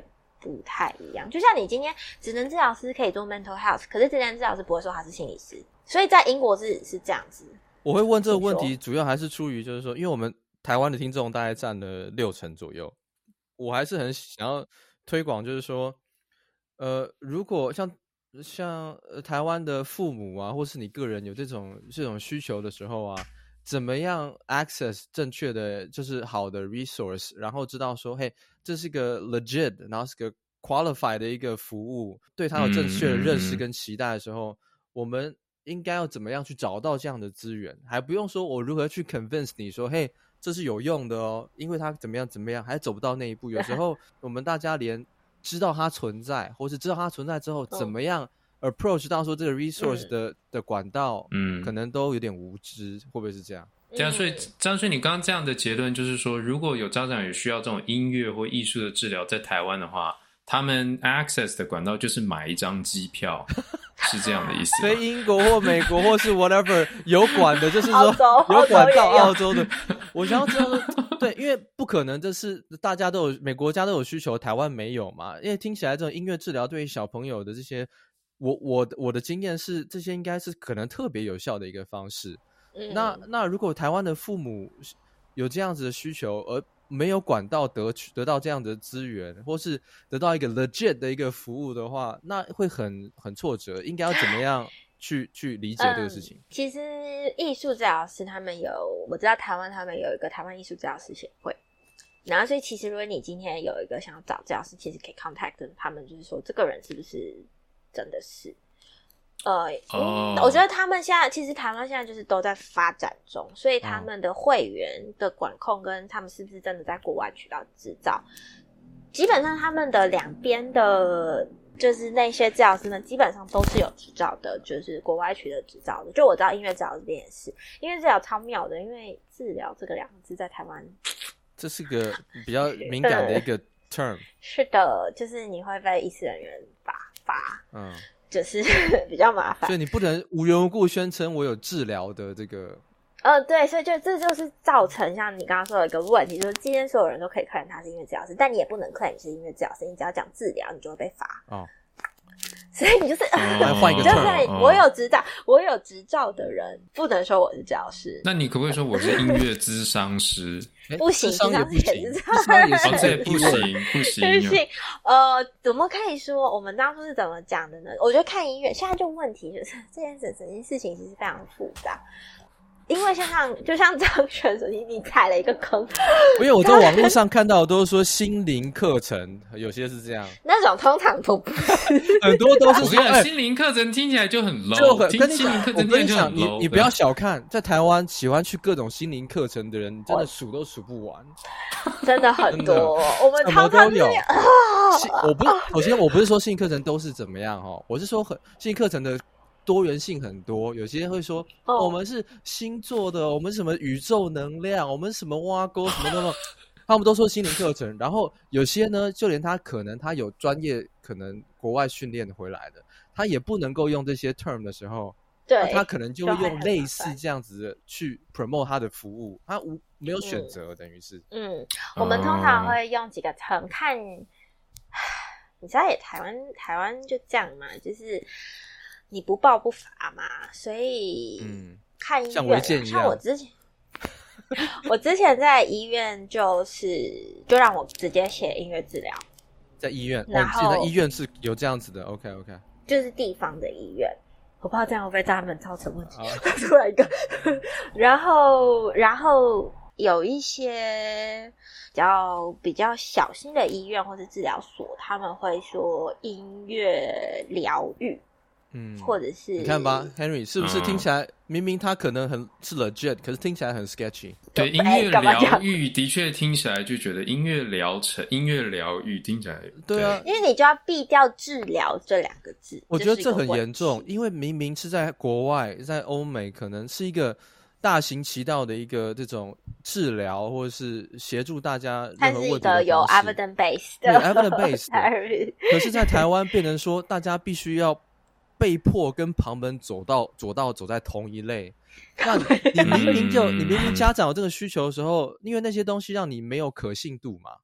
不太一樣。就像你今天職能治療師可以做 mental health， 可是職能治療師不會說他是心理師，所以在英國是這樣子。 我會問這個問題，主要還是出於就是說，因為我們台灣的聽眾大概佔了60%左右，我還是很想要推廣，就是說，如果像台灣的父母啊，或是你個人有這種需求的時候啊，怎麼樣 access 正確的就是好的 resource， 然後知道說，嘿，這是個 legit， 然後是個 qualified 的一個服務，對他有正確的認識跟期待的時候，我們應該要怎麼樣去找到這樣的資源？還不用說我如何去 convince 你說，嘿，這是有用的哦，因為它怎麼樣，還走不到那一步。有時候我們大家連知道它存在，或是知道它存在之後，怎麼樣 approach 到說這個 resource 的管道，可能都有點無知，會不會是這樣？ 這樣，所以張軒，你剛剛這樣的結論就是說，如果有家長也需要這種音樂或藝術的治療，在台灣的話，他們 access 的管道就是買一張機票，是這樣的意思嗎？ 所以英國或美國或是 whatever 有管的，就是說有管到澳洲的。我想要知道說，對，因為不可能，這是大家都有，每國家都有需求，台灣沒有嘛？因為聽起來這種音樂治療對於小朋友的這些，我的經驗是，這些應該是可能特別有效的一個方式。那如果台灣的父母有這樣子的需求，而沒有管道得到這樣的資源，或是得到一個 legit 的一個服務的話，那會很挫折。應該要怎麼樣去理解這個事情？ 其實藝術治療師他們我知道台灣他們有一個台灣藝術治療師協會，然後所以其實如果你今天有一個想要找治療師，其實可以 contact 他們，就是說這個人是不是真的是。我覺得他們現在其實台灣現在就是都在發展中，所以他們的會員的管控跟他們是不是真的在國外取到執照，基本上他們的兩邊的，就是那些治療師呢，基本上都是有執照的，就是國外取得執照的。就我知道音樂治療這邊也是，音樂治療超妙的，因為治療這個兩個字在台灣，這是個比較敏感的一個 term。 是的，就是你會被医師人員罰。就是比較麻煩， 所以你不能無緣無故宣稱我有治療的這個。 對，所以这就是造成像你剛剛說的一個問題，就是今天所有人都可以claim他是音樂治療師，但你也不能claim你是音樂治療師，你只要講治療，你就會被罰。所以你就是換一個 term，我有執照的人不能說我是治療師。 那你可不可以說我是音樂諮商師？ 不行， 諮商也不行， 這也不行。 怎麼可以說？我們當初是怎麼講的呢？我覺得看音樂，現在就問題就是這件事情其實非常複雜。因為就像張軒說，你踩了一個坑。 因為我在網絡上看到的都是說心靈課程，有些是這樣。 那種通常都不是， 很多都是說。 心靈課程聽起來就很 low， 跟你講，我跟你講，你不要小看，在台灣喜歡去各種心靈課程的人，真的數都數不完， 真的很多。我們常常都有。首先我不是說心靈課程都是怎麼樣哈，我是说心靈課程的多元性很多，有些人會說，我們是星座的，我們是什麼宇宙能量，我們是什麼挖溝什麼的，他們都說心靈課程。然後有些呢，就連他有專業，可能國外訓練回來的，他也不能夠用這些 term 的時候， 對， 他可能就會用類似這樣子的去 promote 他的服務，他沒有選擇，等於是。 我們通常會用幾個 term 看，你知道也台灣就這樣嘛，就是。你不報不罰嘛，所以看醫院，像我之前在醫院就讓我直接寫音樂治療， 在醫院，然後現在醫院是有這樣子的 ，OK， 就是地方的醫院，我不知道這樣會不會对他們造成問題，出來一個，然後有一些比較小型的醫院或是治療所，他們會說音樂療癒。或者是你看吧 ，Henry 是不是聽起來明明他可能是 legit， 可是聽起來很 sketchy。 對，音樂療癒的確聽起來就覺得音樂療癒聽起來對啊， 因為你就要避掉治療這兩個字。 我覺得這很嚴重，因為明明是在國外，在歐美，可能是一個大行其道的一個這種治療，或者是協助大家任何問題的方式。它是一個有 evidence based 的， 有 evidence based 的。可是，在台灣變成說，大家必須要被迫跟旁門走在同一類，那你明明家長有這個需求的時候，因為那些東西讓你沒有可信度嘛，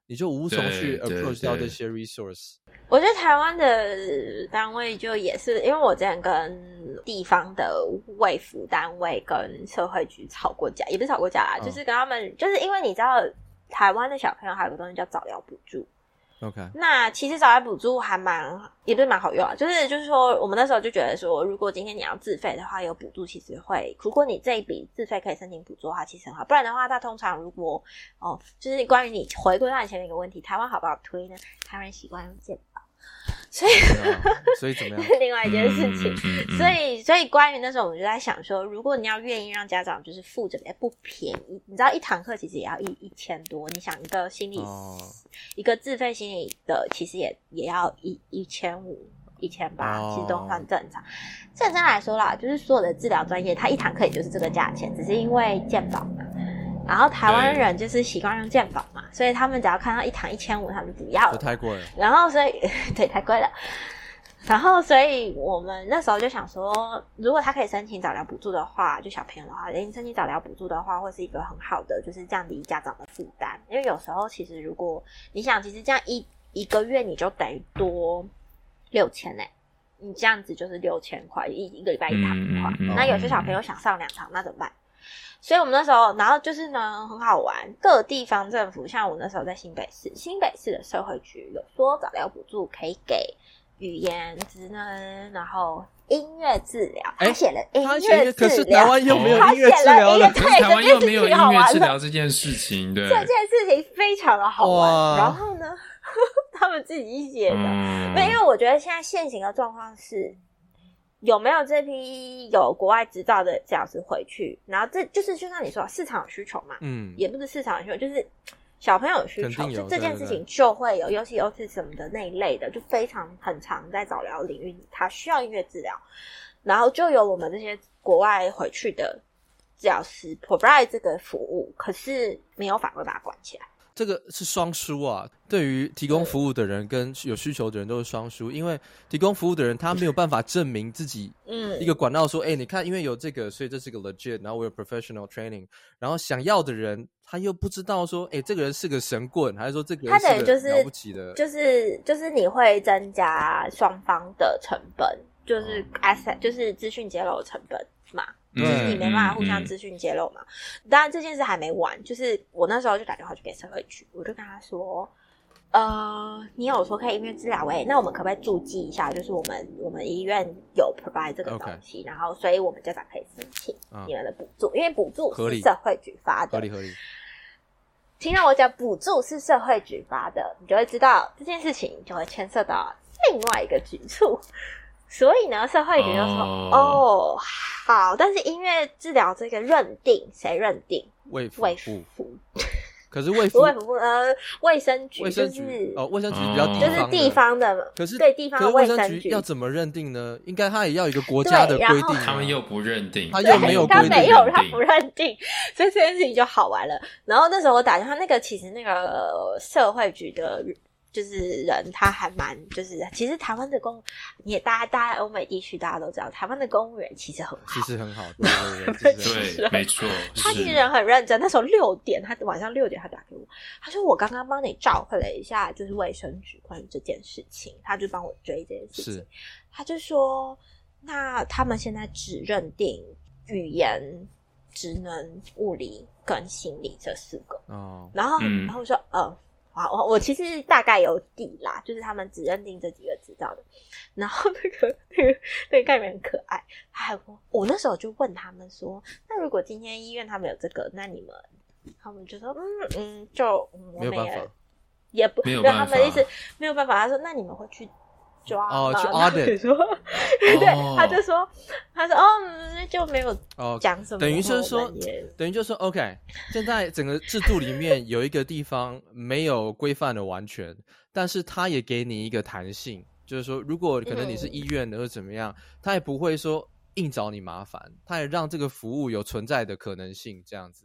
你就無從去 approach 到這些 resource。 我覺得台灣的單位就也是，因為我之前跟地方的衛福單位跟社會局吵過架，也不是吵過架啦，就是跟他們，就是因為你知道台灣的小朋友還有個東西叫早療補助。 OK， 那其實早療補助還也不是蠻好用啊，就是說我們那時候就覺得說，如果今天你要自費的話，有補助其實會，如果你這一筆自費可以申請補助的話，其實很好。不然的話，它通常如果就是關於你回歸到你前面一個問題，台灣好不好推呢？台灣人習慣用健保。所以怎麼樣？ 是另外一件事情。所以關於那時候，我們就在想說，如果你要願意讓家長就是付這邊不便宜，你知道一堂課其實也要1000多，你想一個心理一個自費心理的，其實也要1500、1800，其實都算正常。正常來說啦，就是所有的治療專業，它一堂課也就是這個價錢，只是因為健保嘛。然後台灣人就是習慣用健保嘛，所以他們只要看到一堂1500，他們就不要了。 太貴了。 然後所以对，太貴了。然後所以我們那時候就想說，如果他可以申請早療補助的話，就小朋友的话，申請早療補助的話，會是一個很好的，就是降低家長的負擔。因為有時候其實如果你想，其實這樣一個月你就等於多6000欸，你這樣子就是6000塊，一個禮拜一堂的話，那有些小朋友想上2堂，那怎麼辦？所以我們那時候，然後就是呢，很好玩，各地方政府，像我那時候在新北市的社會局有說早療補助可以給語言職能，然後音樂治療，他寫了音樂治療， 可是台灣又沒有音樂治療了， 可是台灣又沒有音樂治療這件事情，對， 這件事情非常的好玩。然後呢，他們自己寫的，因為我覺得现在现行的狀況是，有沒有這批有國外執照的治療師回去，然後這就是就像你說市場有需求嘛，也不是市場有需求，就是小朋友有需求，就這件事情就會有，尤其 autism 的那一類的，就非常很常在早療領域裡，他需要音樂治療，然後就有我們這些國外回去的治療師 provide 這個服務，可是沒有法規把它管起來。 這個是雙輸啊，對於提供服務的人跟有需求的人都是雙輸，因為提供服務的人他沒有辦法證明自己一個管道說，你看因為有這個所以這是個 legit， 然後我有 professional training， 然後想要的人他又不知道說這個人是個神棍，還是說這個人是個了不起的， 就是你會增加雙方的成本，就是 asset， 就是資訊揭露的成本嘛。就是你沒辦法互相資訊揭露嘛。當然這件事還沒完，就是我那時候就打電話去給社會局，我就跟他說，你有說可以音樂治療那我們可不可以注記一下，就是我們醫院有 provide 這個東西，然後所以我們家長可以申請你們的補助，因為補助是社會局發的，合理。聽到我講補助是社會局發的，你就會知道這件事情就會牽涉到另外一個局處。所以呢，社會局就說好，但是音樂治療這個認定誰認定？衛福。可是衛福衛生局就是衛生局比較就是地方的，可是对地方的衛生局要怎麼認定呢？應該他也要有一個國家的規定， 他們又不認定， 他又沒有規定， 他不認定，所以這件事情就好玩了。然後那時候我打電話，其實那個社會局的。就是人他還蠻就是其實台灣的大家歐美地區大家都知道台灣的公務員其實很好， 對，沒錯， 他其實人很認真。那時候晚上6點他打給我，他說我剛剛幫你召回了一下就是衛生局關於這件事情，他就幫我追這件事情，他就說那他們現在只認定語言職能物理跟心理這4個然後我說我其實大概有底啦，就是他們只認定這幾個執照的。然後那個概念很可愛，他還說，我那時候就問他們說，那如果今天醫院他們有這個，那你們，他們就說，就我們也不， 沒有辦法， 他們的意思没有辦法。他說，那你們會去抓嗎？ 去 audit 对，他就說就沒有講什麼， 等於就是說 OK， 現在整個制度裡面有一個地方沒有規範的完全，但是他也給你一個彈性，就是說如果可能你是醫院的或怎麼樣，他也不會說硬找你麻煩，他也讓這個服務有存在的可能性，這樣子。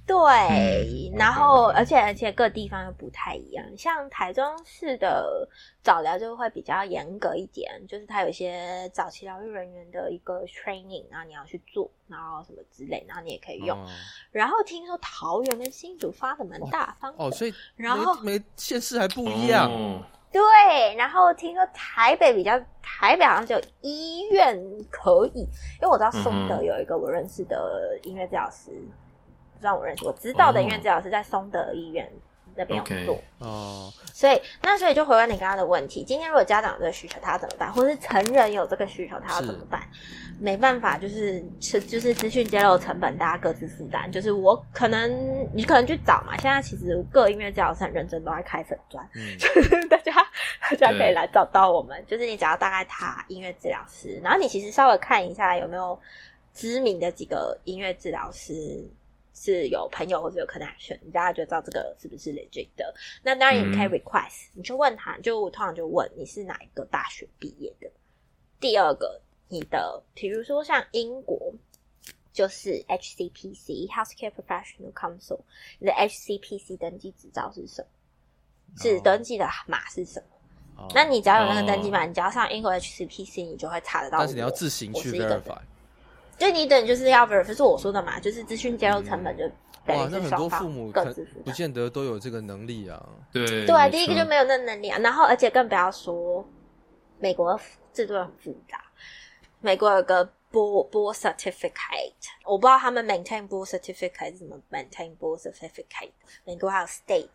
對，然後而且各地方又不太一樣，像台中市的早療就會比較嚴格一點，就是它有一些早期療癒人員的一個 training， 然後你要去做，然後什麼之類，然後你也可以用。然後聽說桃園跟新竹發的蠻大方的， 所以然後每縣市還不一樣。 對，然後聽說台北好像只有醫院可以，因為我知道松德有一個我認識的音樂治療師。讓我認識，我知道的音樂治療師在松德醫院那邊有做所以就回答你剛剛的問題，今天如果家長有這個需求他要怎麼辦，或是成人有這個需求他要怎麼辦？沒辦法，就是資訊揭露成本大家各自負擔，就是你可能去找嘛，現在其實各音樂治療師很認真都在開粉專就是大家可以來找到我們，就是你只要大概打音樂治療師，然後你其實稍微看一下有沒有知名的幾個音樂治療師是有朋友或者有 connection， 你大概就知道這個是不是 legit 的。那當然你可以 request，你去問他，我通常就問你是哪一個大學畢業的。第二個，你的比如說像英國就是 HCPC Healthcare Professional Council， 你的 HCPC 登記執照是什麼？是登記的碼是什麼？那你只要有那個登記碼，你只要上英國 HCPC， 你就會查得到。 但是你要自行去 verify。 就你等就是要 verify， 是我說的嘛，就是資訊揭露成本就等於是双方各自負擔。 不見得都有這個能力啊。 對， 第一個就沒有那能力啊。然後而且更不要說美國制度很複雜，美國有個 board certificate， 我不知道他們 maintain board certificate 是怎麼 maintain board certificate。美國還有 state，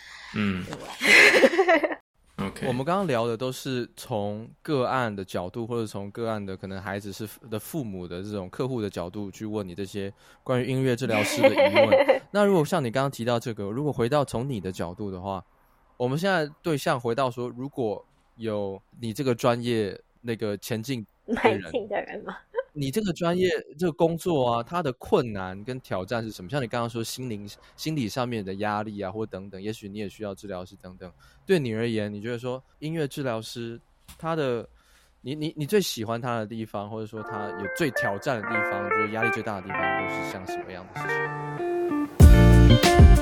對。 我們剛剛聊的都是從個案的角度，或者從個案的可能孩子的父母的這種客戶的角度去問你這些關於音樂治療師的疑問。那如果像你剛剛提到這個，如果回到從你的角度的話，我們現在對象回到說，如果有你這個專業那個前進的人嗎？ 你這個專業這個工作啊，它的困難跟挑戰是什麼？像你剛剛說心理上面的壓力啊，或等等，也許你也需要治療師等等。對你而言，你覺得說音樂治療師他的你最喜歡他的地方，或者說他有最挑戰的地方，你覺得壓力最大的地方，都是像什麼樣的事情？